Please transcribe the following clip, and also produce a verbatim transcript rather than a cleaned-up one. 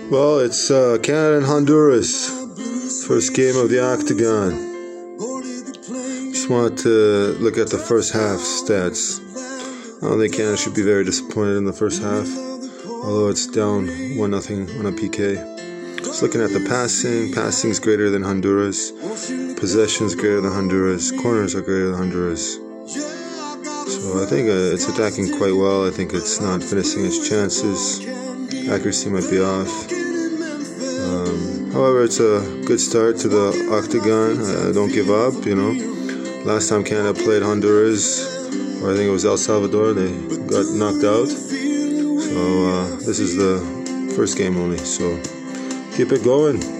Well, it's uh, Canada and Honduras. First game of the Octagon. Just want to look at the first half stats. I don't think Canada should be very disappointed in the first half, although it's down one nothing on a P K. Just looking at the passing. Passing is greater than Honduras. Possession is greater than Honduras. Corners are greater than Honduras. So I think uh, it's attacking quite well. I think it's not finishing its chances. Accuracy might be off. Um, however, it's a good start to the Octagon. Uh, don't give up, you know. Last time Canada played Honduras, or I think it was El Salvador, they got knocked out. So uh, this is the first game only. So keep it going.